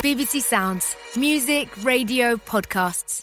BBC Sounds, music, radio, podcasts.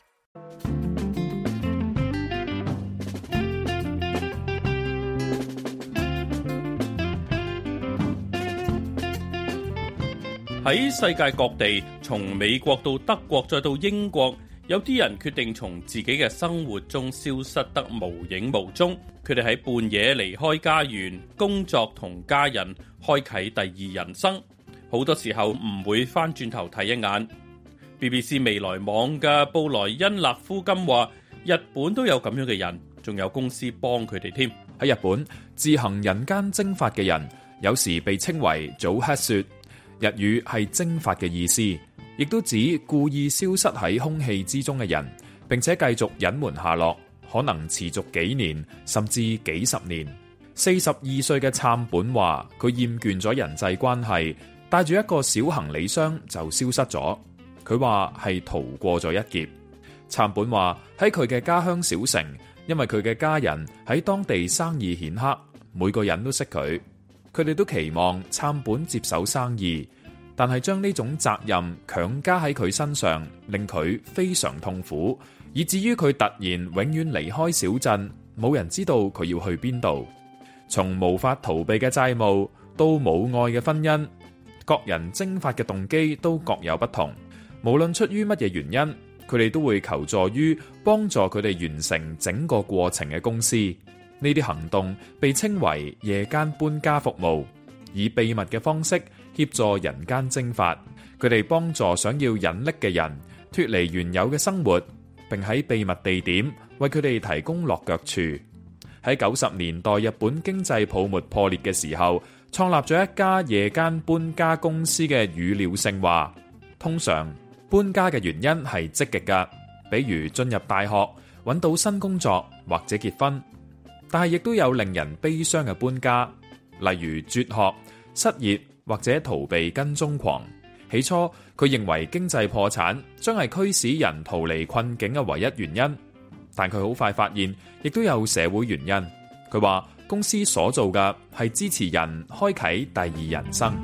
喺世界各地，從美國到德國再到英國，有啲人決定從自己嘅生活中消失得無影無蹤。佢哋喺半夜離開家園、工作同家人，開啟第二人生。好多時候唔會翻轉頭睇一眼。BBC 未來網嘅布萊恩勒夫金話，日本都有咁樣嘅人，仲有公司幫佢哋添。 喺日本，自行人間蒸發嘅人，有時被稱為早黑雪。日語係蒸發嘅意思，亦都指故意消失喺空氣之中嘅人，並且繼續隱瞞下落，可能持續幾年甚至幾十年。42歲嘅杉本話，佢厭倦咗人際關係，帶住一個小行李箱就消失咗。佢話係逃過咗一劫。杉本話喺佢嘅家鄉小城，因為佢嘅家人喺當地生意顯赫，每個人都識佢。佢哋都期望杉本接手生意，但係將呢種責任強加喺佢身上，令佢非常痛苦，以至於佢突然永遠離開小鎮，冇人知道佢要去邊度。從無法逃避嘅債務到冇愛嘅婚姻，各人蒸發嘅動機都各有不同。無論出於乜嘢原因，佢哋都會求助於幫助佢哋完成整個過程嘅公司。呢啲行動被稱為夜間搬家服務，以秘密嘅方式協助人間蒸發。佢哋幫助想要隱匿嘅人脫離原有嘅生活，並喺秘密地點為佢哋提供落腳處。喺90年代日本經濟泡沫破裂嘅時候，創立咗一家夜間搬家公司嘅語料性話，通常搬家嘅原因係積極㗎，比如進入大學、揾到新工作或者結婚。但係亦都有令人悲傷嘅搬家，例如輟學、失業或者逃避跟蹤狂。起初佢認為經濟破產將係驅使人逃離困境嘅唯一原因，但佢好快發現亦都有社會原因。佢話公司所做嘅係支持人開啟第二人生。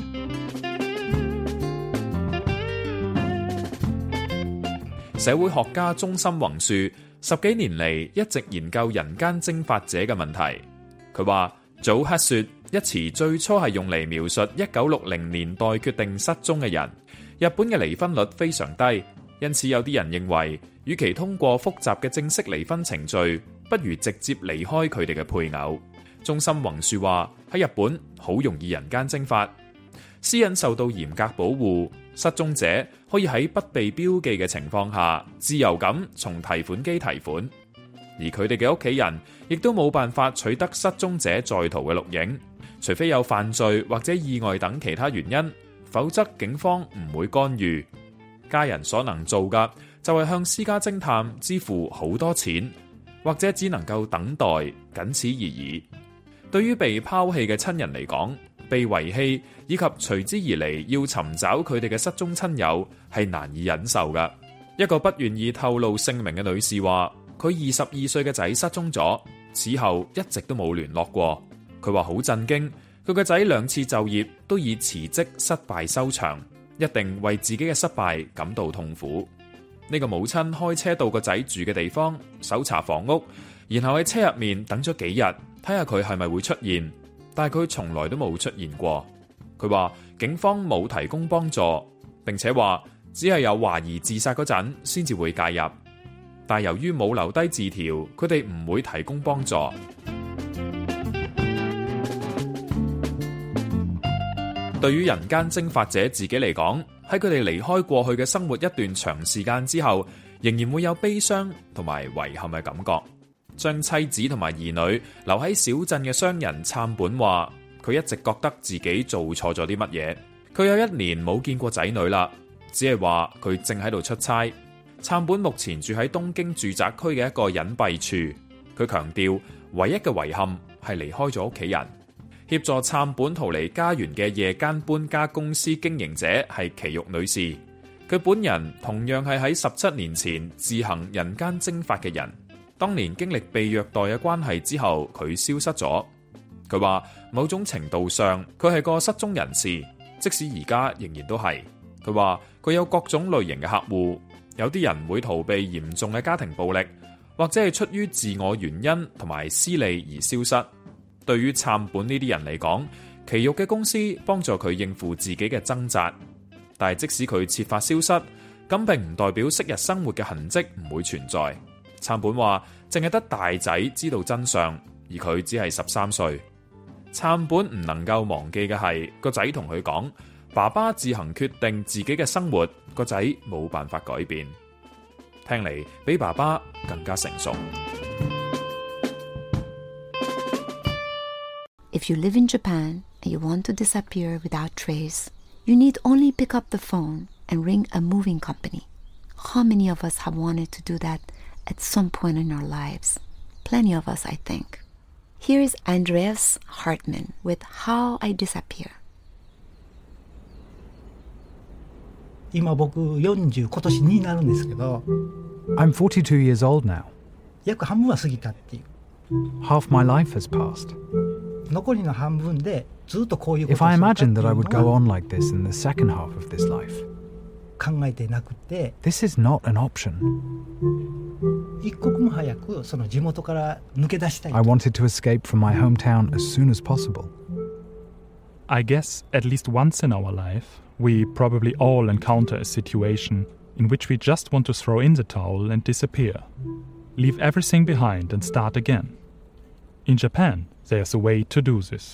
社會學家中森宏樹10幾年嚟一直研究人間蒸發者嘅問題。佢話早黑雪一詞最初係用嚟描述1960年代決定失蹤嘅人。日本嘅離婚率非常低，因此有啲人認為，與其通過複雜嘅正式離婚程序，不如直接離開佢哋嘅配偶。中森宏樹話喺日本好容易人間蒸發，私隱受到嚴格保護，失蹤者可以喺不被標記嘅情況下自由咁從提款機提款，而佢哋嘅屋企人亦都冇辦法取得失蹤者在逃嘅錄影，除非有犯罪或者意外等其他原因，否則警方唔會干預。家人所能做嘅就係向私家偵探支付好多錢，或者只能夠等待，僅此而已。對於被拋棄嘅親人嚟講，被遺棄以及隨之而嚟要尋找佢哋嘅失蹤親友係難以忍受㗎。一個不願意透露姓名嘅女士話，佢22歲嘅仔失蹤咗，此後一直都冇聯絡過。佢話好震驚，佢個仔2次就業都以辭職失敗收場，一定為自己嘅失敗感到痛苦。呢個母親開車到個仔住嘅地方搜查房屋，然後喺車入面等咗幾日，睇下佢係咪會出現，但係佢從來都冇出現過。佢話警方冇提供幫助，並且話只係有懷疑自殺嗰陣先至會介入，但由於冇留低字條，佢哋唔會提供幫助。對於人間蒸發者自己嚟講，喺佢哋離開過去嘅生活一段長時間之後，仍然會有悲傷同埋遺憾嘅感覺。將妻子同埋兒女留喺小鎮嘅商人杉本話，佢一直覺得自己做錯咗啲乜嘢。佢有1年冇見過仔女啦，只係話佢正喺度出差。杉本目前住喺東京住宅區嘅一個隱蔽處。佢強調，唯一嘅遺憾係離開咗屋企人。協助杉本逃離家園嘅夜間搬家公司經營者係奇玉女士，佢本人同樣係喺17年前自行人間蒸發嘅人。當年經歷被虐待嘅關係之後，佢消失咗。佢話某種程度上佢係個失蹤人士，即使而家仍然都係。 佢話佢有各種類型嘅客戶，有啲人會逃避嚴重嘅家庭暴力，或者係出於自我原因同埋私利而消失。對於杉本呢啲人嚟講，奇玉嘅公司幫助佢應付自己嘅掙扎，但係即使佢設法消失，咁並唔代表昔日生活嘅痕跡唔會存在。杉本話淨係得大仔知道真相，而佢只係13歲。杉本唔能夠忘記嘅係個仔同佢講，爸爸自行決定自己嘅生活，個仔冇辦法改變。聽嚟比爸爸更加成熟。 If you live in Japan and you want to disappear without trace, you need only pick up the phone and ring a moving company. How many of us have wanted to do that at some point in our lives? Plenty of us, I think. Here is Andreas Hartmann with How I Disappear. 今僕40今年になるんですけど I'm 42 years old now. 約半分は過ぎたっていう Half my life has passed. 残りの半分でずっとこういうこと If を I するかっていう imagined that I would go のは on like this in the second half of this life, 考えてなくて this is not an option. 一刻も早くその地元から抜け出したい I wanted to escape from my hometown as soon as possible. I guess at least once in our life, we probably all encounter a situation in which we just want to throw in the towel and disappear. Leave everything behind and start again. In Japan, there's a way to do this.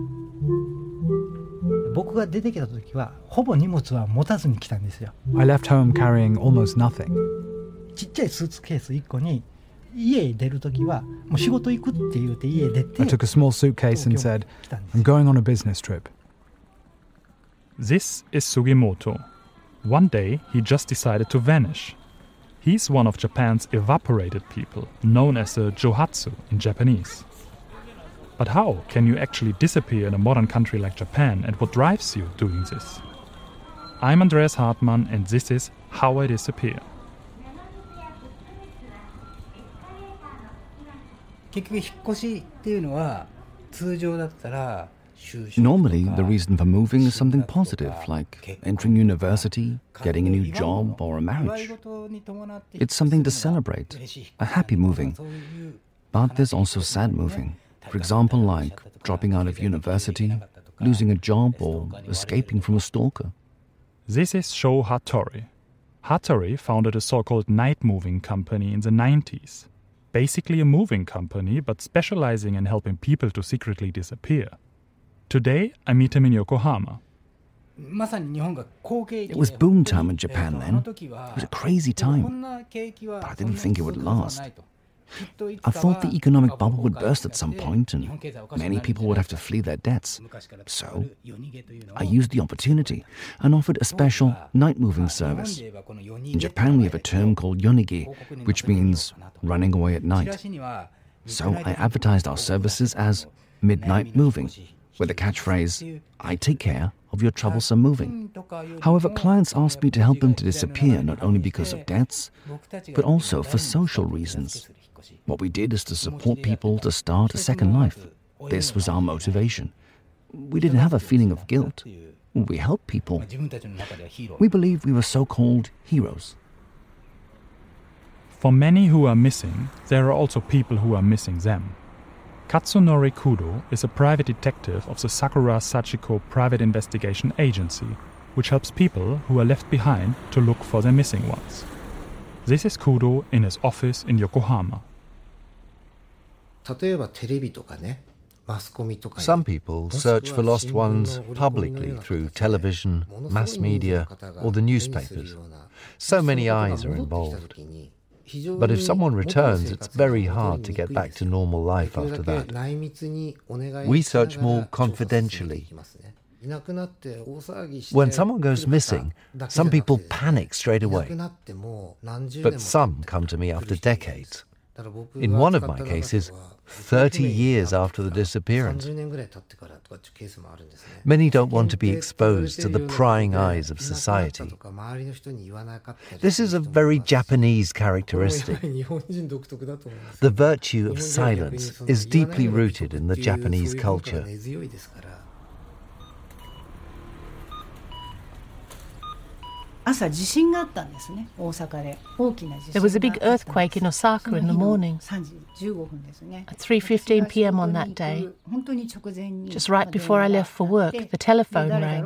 僕が出てきた時はほぼ荷物は持たずに来たんですよ I left home carrying almost nothing. ちっちゃいスーツケース1個に家出る時はもう仕事行くって言って家出て I took a small suitcase and said, 来たんです I'm going on a business trip. This is Sugimoto. One day, he just decided to vanish. He's one of Japan's evaporated people, known as a johatsu in Japanese. But how can you actually disappear in a modern country like Japan, and what drives you doing this? I'm Andreas Hartmann, and this is How I Disappear. 結局引っ越しっていうのは通常だったら Normally, the reason for moving is something positive, like entering university, getting a new job, or a marriage. It's something to celebrate, a happy moving. But there's also sad moving. For example, like dropping out of university, losing a job, or escaping from a stalker. This is Sho Hattori. Hattori founded a so-called night moving company in the 90s. Basically a moving company, but specializing in helping people to secretly disappear. Today, I meet him in Yokohama. It was boom time in Japan then. It was a crazy time, but I didn't think it would last. I thought the economic bubble would burst at some point and many people would have to flee their debts. So I used the opportunity and offered a special night moving service. In Japan we have a term called yonigi, which means running away at night. So I advertised our services as midnight moving, with the catchphrase, I take care of your troublesome moving. However, clients asked me to help them to disappear not only because of debts, but also for social reasons. What we did is to support people to start a second life. This was our motivation. We didn't have a feeling of guilt. We helped people. We believed we were so-called heroes. For many who are missing, there are also people who are missing them. Katsunori Kudo is a private detective of the Sakura Sachiko Private Investigation Agency, which helps people who are left behind to look for their missing ones. This is Kudo in his office in Yokohama. Some people search for lost ones publicly through television, mass media, or the newspapers. So many eyes are involved. But if someone returns, it's very hard to get back to normal life after that. We search more confidentially. When someone goes missing, some people panic straight away. But some come to me after decades. In one of my cases, 30 years after the disappearance. Many don't want to be exposed to the prying eyes of society. This is a very Japanese characteristic. The virtue of silence is deeply rooted in the Japanese culture. There was a big earthquake in Osaka in the morning. At 3:15 p.m. on that day, just right before I left for work, the telephone rang.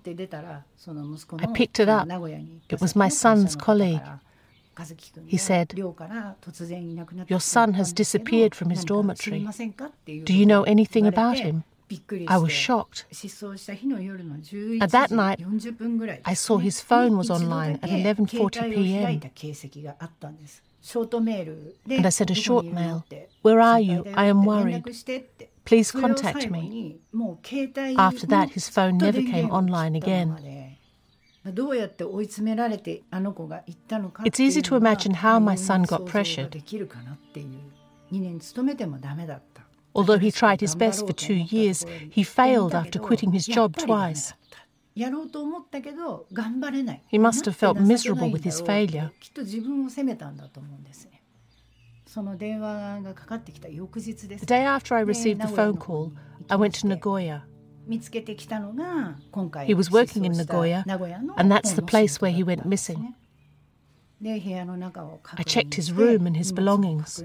I picked it up. It was my son's colleague. He said, "Your son has disappeared from his dormitory. Do you know anything about him?" I was shocked. At that night, I saw his phone was online at 11:40 p.m. And I sent a short mail. "Where are you? I am worried. Please contact me." After that, his phone never came online again. It's easy to imagine how my son got pressured. Although he tried his best for 2 years, he failed after quitting his job twice. He must have felt miserable with his failure. The day after I received the phone call, I went to Nagoya. He was working in Nagoya, and that's the place where he went missing. I checked his room and his belongings.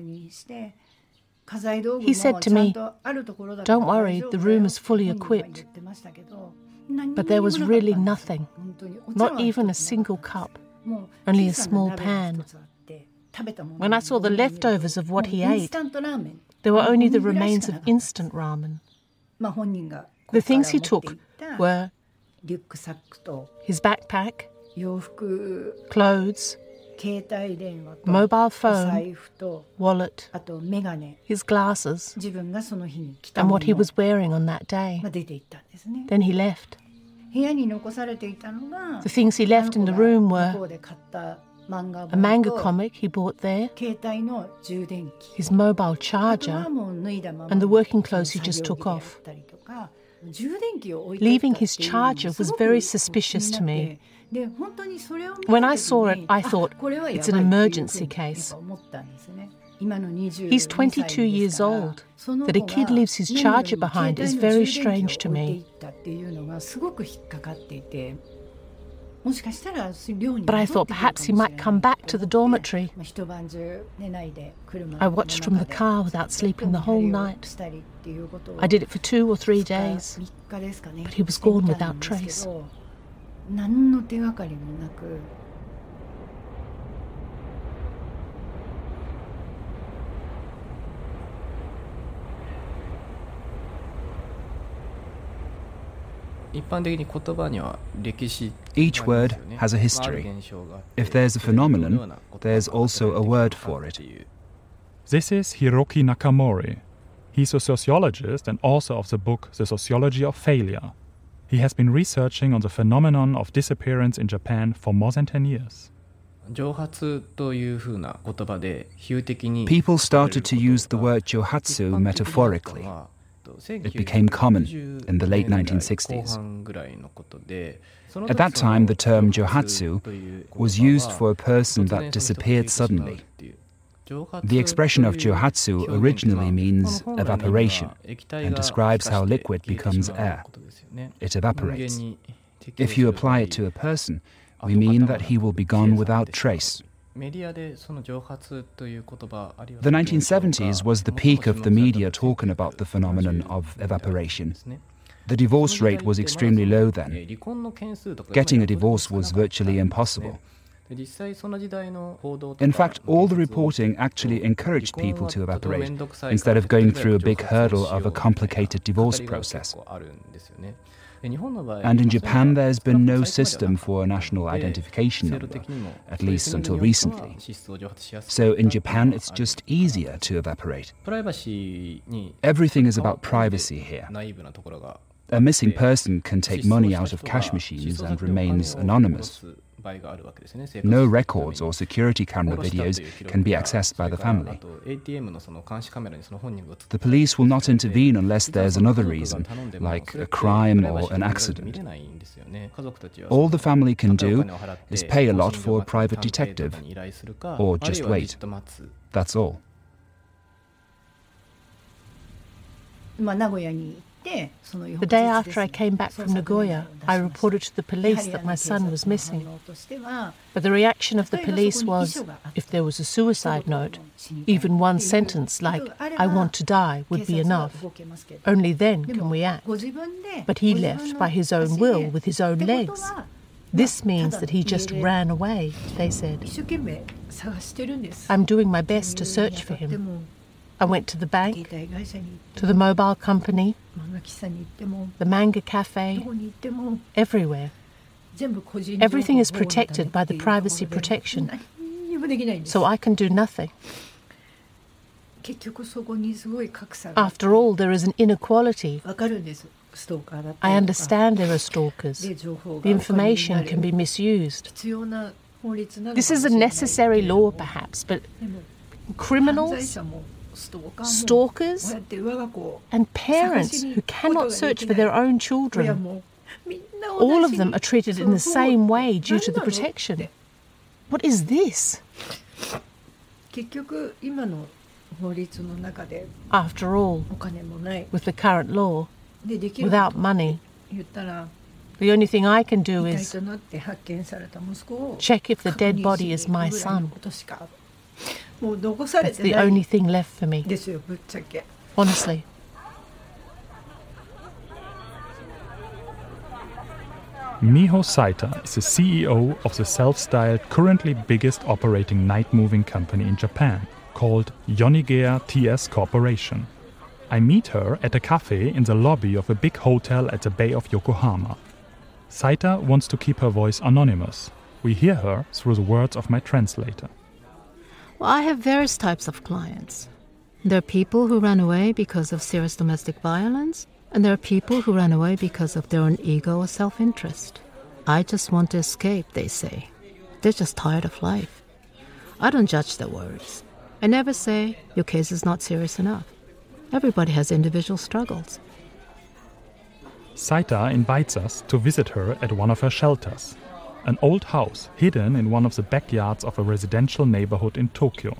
He said to me, "Don't worry, the room is fully equipped." But there was really nothing, not even a single cup, only a small pan. When I saw the leftovers of what he ate, there were only the remains of instant ramen. The things he took were his backpack, clothes, mobile phone, wallet, his glasses, and what he was wearing on that day. Then he left. The things he left in the room were a manga comic he bought there, his mobile charger, and the working clothes he just took off. Leaving his charger was very suspicious to me. When I saw it, I thought, it's an emergency case. He's 22 years old. That a kid leaves his charger behind is very strange to me. But I thought perhaps he might come back to the dormitory. I watched from the car without sleeping the whole night. I did it for 2 or 3 days, but he was gone without trace. Each word has a history. If there's a phenomenon, there's also a word for it. This is Hiroki Nakamori. He's a sociologist and author of the book The Sociology of Failure. He has been researching on the phenomenon of disappearance in Japan for more than 10 years. People started to use the word johatsu metaphorically. It became common in the late 1960s. At that time, the term johatsu was used for a person that disappeared suddenly. The expression of johatsu originally means evaporation and describes how liquid becomes air. It evaporates. If you apply it to a person, we mean that he will be gone without trace. The 1970s was the peak of the media talking about the phenomenon of evaporation. The divorce rate was extremely low then. Getting a divorce was virtually impossible. In fact, all the reporting actually encouraged people to evaporate instead of going through a big hurdle of a complicated divorce process. And in Japan, there's been no system for a national identification number, at least until recently. So in Japan, it's just easier to evaporate. Everything is about privacy here. A missing person can take money out of cash machines and remains anonymous. No records or security camera videos can be accessed by the family. The police will not intervene unless there's another reason, like a crime or an accident. All the family can do is pay a lot for a private detective, or just wait. That's all. The day after I came back from Nagoya, I reported to the police that my son was missing. But the reaction of the police was, if there was a suicide note, even one sentence like, "I want to die," would be enough. Only then can we act. But he left by his own will, with his own legs. This means that he just ran away, they said. I'm doing my best to search for him. I went to the bank, to the mobile company, the manga cafe, everywhere. Everything is protected by the privacy protection, so I can do nothing. After all, there is an inequality. I understand there are stalkers. The information can be misused. This is a necessary law, perhaps, but criminals, stalkers, and parents who cannot search for their own children, all of them are treated in the same way due to the protection. What is this? After all, with the current law, without money, the only thing I can do is check if the dead body is my son. That's the only thing left for me. Honestly. Miho Saita is the CEO of the self-styled, currently biggest operating night-moving company in Japan, called Yonigea TS Corporation. I meet her at a cafe in the lobby of a big hotel at the Bay of Yokohama. Saita wants to keep her voice anonymous. We hear her through the words of my translator. Well, I have various types of clients. There are people who run away because of serious domestic violence, and there are people who run away because of their own ego or self-interest. I just want to escape, they say. They're just tired of life. I don't judge their words. I never say, your case is not serious enough. Everybody has individual struggles. Saita invites us to visit her at one of her shelters, an old house hidden in one of the backyards of a residential neighborhood in Tokyo.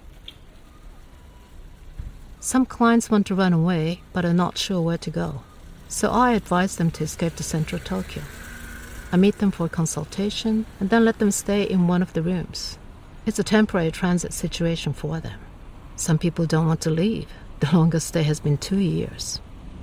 Some clients want to run away, but are not sure where to go. So I advise them to escape to central Tokyo. I meet them for a consultation and then let them stay in one of the rooms. It's a temporary transit situation for them. Some people don't want to leave. The longest stay has been 2 years.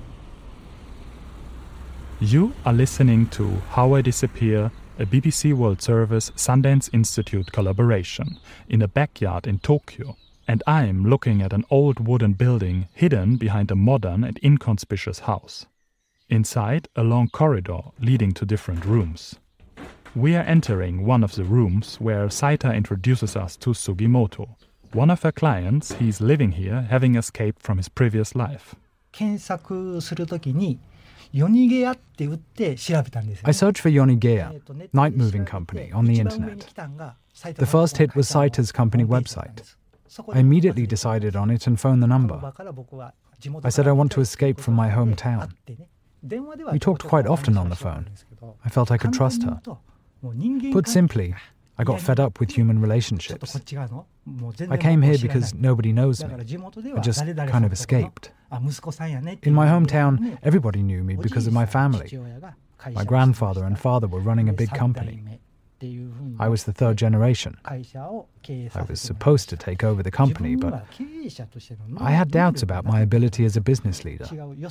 You are listening to How I Disappear, a BBC World Service Sundance Institute collaboration, in a backyard in Tokyo, and I'm looking at an old wooden building hidden behind a modern and inconspicuous house. Inside, a long corridor leading to different rooms. We are entering one of the rooms where Saita introduces us to Sugimoto, one of her clients. He's living here, having escaped from his previous life. I searched for Yonigea, night moving company, on the internet. The first hit was Saita's company website. I immediately decided on it and phoned the number. I said I want to escape from my hometown. We talked quite often on the phone. I felt I could trust her. Put simply, I got fed up with human relationships. I came here because nobody knows me. I just kind of escaped. In my hometown, everybody knew me because of my family. My grandfather and father were running a big company. I was the third generation. I was supposed to take over the company, but I had doubts about my ability as a business leader.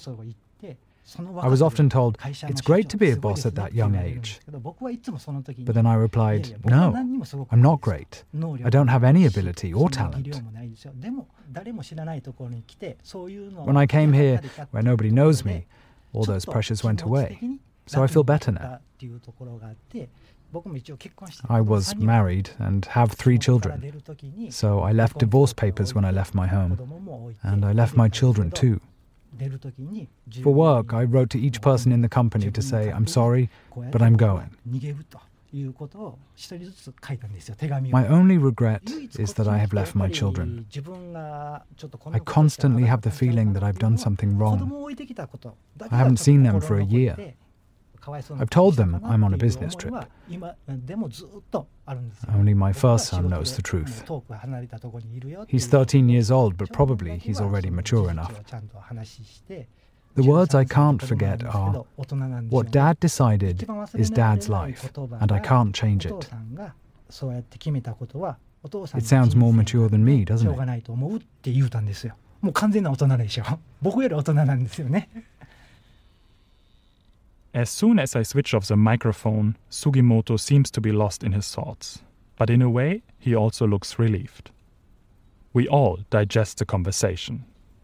I was often told, it's great to be a boss at that young age. But then I replied, no, I'm not great. I don't have any ability or talent. When I came here, where nobody knows me, all those pressures went away. So I feel better now. I was married and have 3 children. So I left divorce papers when I left my home. And I left my children too. For work, I wrote to each person in the company to say, I'm sorry, but I'm going. My only regret is that I have left my children. I constantly have the feeling that I've done something wrong. I haven't seen them for a year. I've told them I'm on a business trip. Only my first son knows the truth. He's 13 years old, but probably he's already mature enough. The words I can't forget are, what Dad decided is Dad's life, and I can't change it. It sounds more mature than me, doesn't it? もう完全な大人でしょ。僕より大人なんですよね。 As soon as I switch off the microphone, Sugimoto seems to be lost in his thoughts. But in a way, he also looks relieved. We all digest the conversation.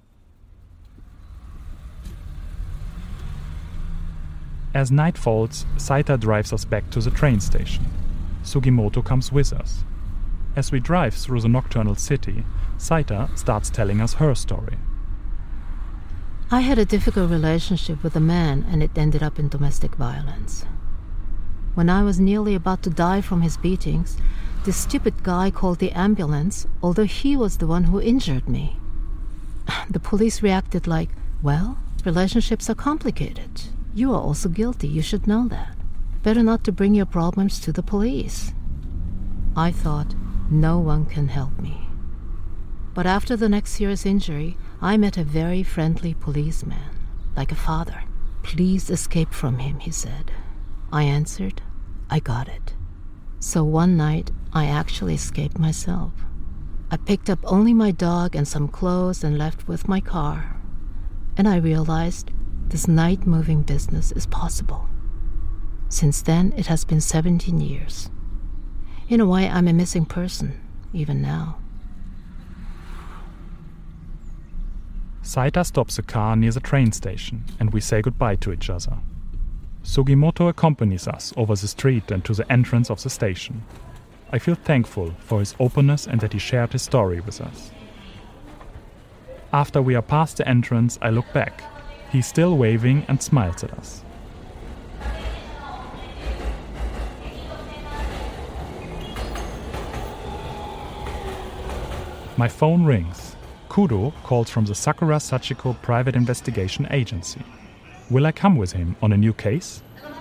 As night falls, Saita drives us back to the train station. Sugimoto comes with us. As we drive through the nocturnal city, Saita starts telling us her story. I had a difficult relationship with a man, and it ended up in domestic violence. When I was nearly about to die from his beatings, this stupid guy called the ambulance, although he was the one who injured me. The police reacted like, well, relationships are complicated. You are also guilty, you should know that. Better not to bring your problems to the police. I thought, no one can help me. But after the next serious injury, I met a very friendly policeman, like a father. Please escape from him, he said. I answered, I got it. So one night, I actually escaped myself. I picked up only my dog and some clothes and left with my car. And I realized this night-moving business is possible. Since then, it has been 17 years. In a way, I'm a missing person, even now. Saita stops the car near the train station, and we say goodbye to each other. Sugimoto accompanies us over the street and to the entrance of the station. I feel thankful for his openness and that he shared his story with us. After we are past the entrance, I look back. He's still waving and smiles at us. My phone rings. Kudo calls from the Sakura Sachiko Private Investigation Agency. Will I come with him on a new case?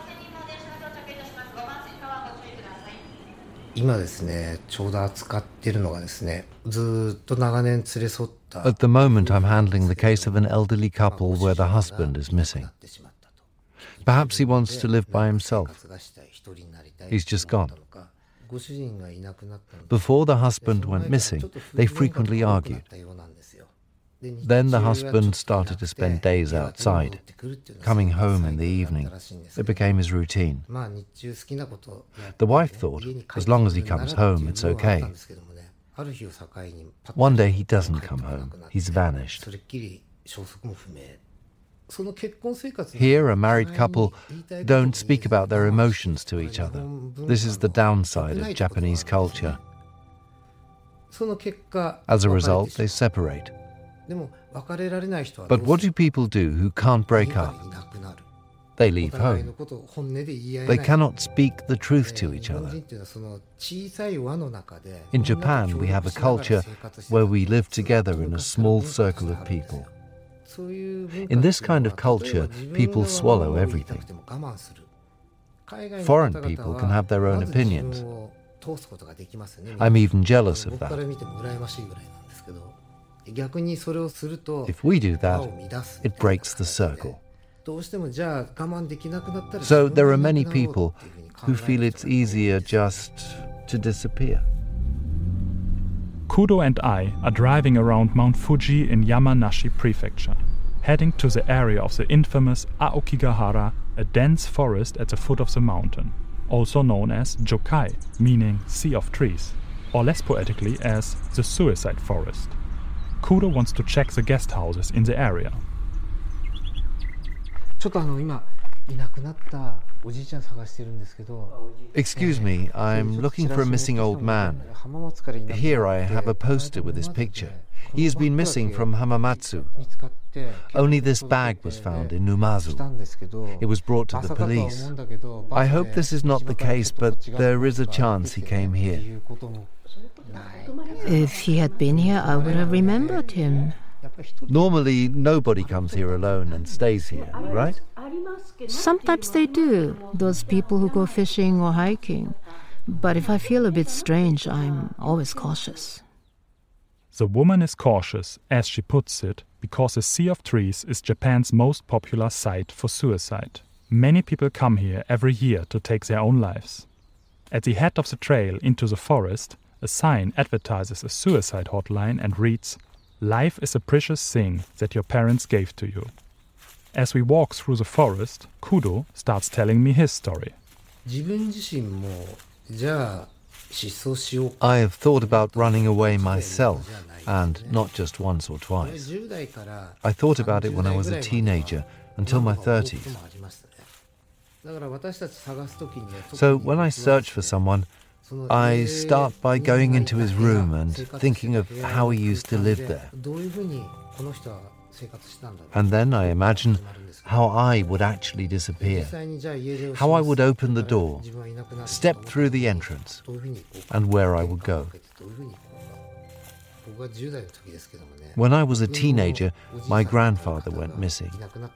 At the moment, I'm handling the case of an elderly couple where the husband is missing. Perhaps he wants to live by himself. He's just gone. Before the husband went missing, they frequently argued. Then the husband started to spend days outside, coming home in the evening. It became his routine. The wife thought, as long as he comes home, it's okay. One day he doesn't come home. He's vanished. Here, a married couple don't speak about their emotions to each other. This is the downside of Japanese culture. As a result, they separate. But what do people do who can't break up? They leave home. They cannot speak the truth to each other. In Japan, we have a culture where we live together in a small circle of people. In this kind of culture, people swallow everything. Foreign people can have their own opinions. I'm even jealous of that. If we do that, it breaks the circle. So there are many people who feel it's easier just to disappear. Kudo and I are driving around Mount Fuji in Yamanashi Prefecture, heading to the area of the infamous Aokigahara, a dense forest at the foot of the mountain, also known as Jokai, meaning sea of trees, or less poetically as the suicide forest. Kudo wants to check the guest houses in the area. Excuse me, I'm looking for a missing old man. Here I have a poster with his picture. He has been missing from Hamamatsu. Only this bag was found in Numazu. It was brought to the police. I hope this is not the case, but there is a chance he came here. If he had been here, I would have remembered him. Normally, nobody comes here alone and stays here, right? Sometimes they do, those people who go fishing or hiking. But if I feel a bit strange, I'm always cautious. The woman is cautious, as she puts it, because a sea of trees is Japan's most popular site for suicide. Many people come here every year to take their own lives. At the head of the trail into the forest, a sign advertises a suicide hotline and reads, "Life is a precious thing that your parents gave to you." As we walk through the forest, Kudo starts telling me his story. I have thought about running away myself, and not just once or twice. I thought about it when I was a teenager, until my 30s. So when I search for someone, I start by going into his room and thinking of how he used to live there. And then I imagine how I would actually disappear, how I would open the door, step through the entrance, and where I would go. When I was a teenager, my grandfather went missing.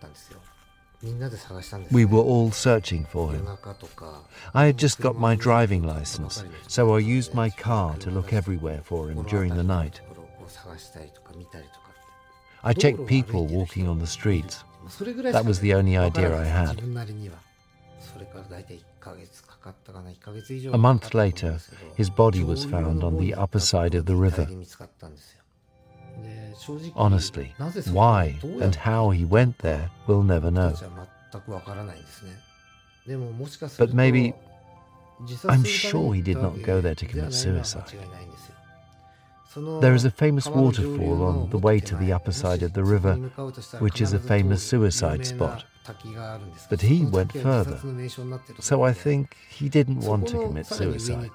We were all searching for him. I had just got my driving license, so I used my car to look everywhere for him during the night. I checked people walking on the streets. That was the only idea I had. A month later, his body was found on the upper side of the river. Honestly, why and how he went there, we'll never know. But maybe, I'm sure he did not go there to commit suicide. There is a famous waterfall on the way to the upper side of the river, which is a famous suicide spot. But he went further, so I think he didn't want to commit suicide.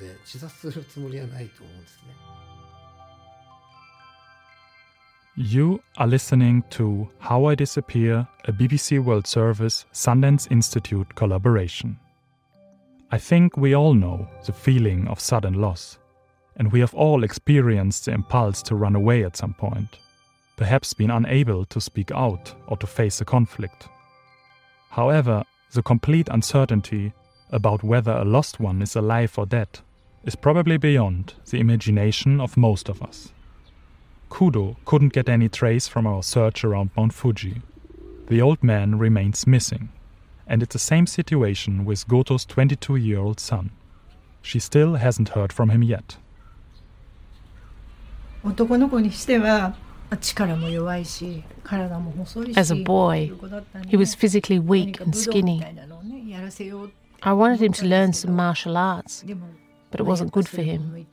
You are listening to How I Disappear, a BBC World Service Sundance Institute collaboration. I think we all know the feeling of sudden loss, and we have all experienced the impulse to run away at some point, perhaps been unable to speak out or to face a conflict. However, the complete uncertainty about whether a lost one is alive or dead is probably beyond the imagination of most of us. Kudo couldn't get any trace from our search around Mount Fuji. The old man remains missing, and it's the same situation with Goto's 22-year-old son. She still hasn't heard from him yet. As a boy, he was physically weak and skinny. I wanted him to learn some martial arts, but it wasn't good for him.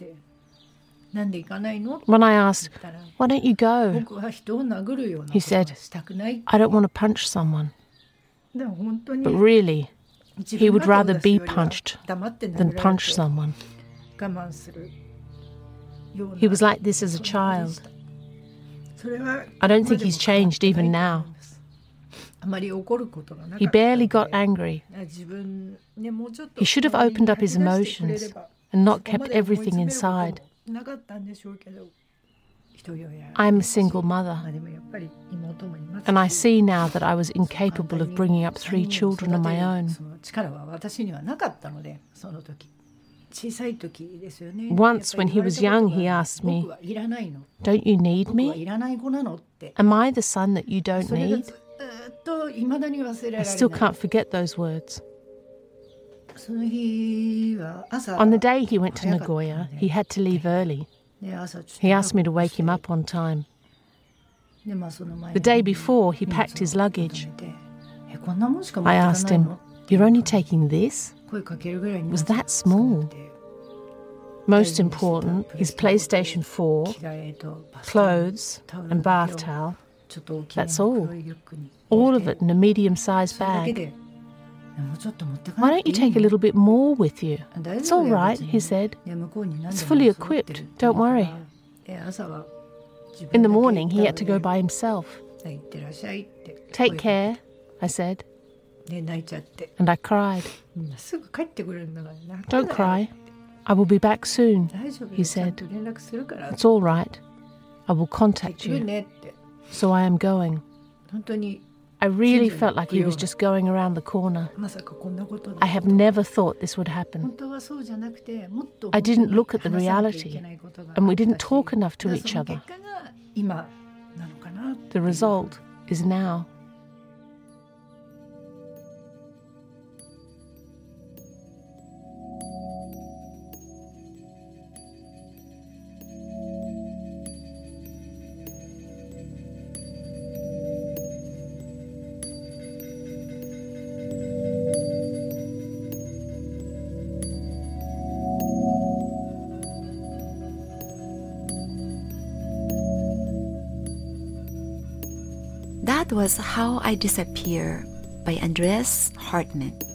When I asked, "Why don't you go?" he said, "I don't want to punch someone." But really, he would rather be punched than punch someone. He was like this as a child. I don't think he's changed even now. He barely got angry. He should have opened up his emotions and not kept everything inside. I'm a single mother, and I see now that I was incapable of bringing up 3 children of my own. Once, when he was young, he asked me, "Don't you need me? Am I the son that you don't need?" I still can't forget those words. On the day he went to Nagoya, he had to leave early. He asked me to wake him up on time. The day before, he packed his luggage. I asked him, "You're only taking this? It was that small." Most important, his PlayStation 4, clothes and bath towel. That's all. All of it in a medium-sized bag. "Why don't you take a little bit more with you?" "It's all right," he said. "It's fully equipped, don't worry." In the morning, he had to go by himself. "Take care," I said. And I cried. "Don't cry. I will be back soon," he said. "It's all right. I will contact you. So I am going." I really felt like he was just going around the corner. I have never thought this would happen. I didn't look at the reality, and we didn't talk enough to each other. The result is now. That was How I Disappear by Andreas Hartmann.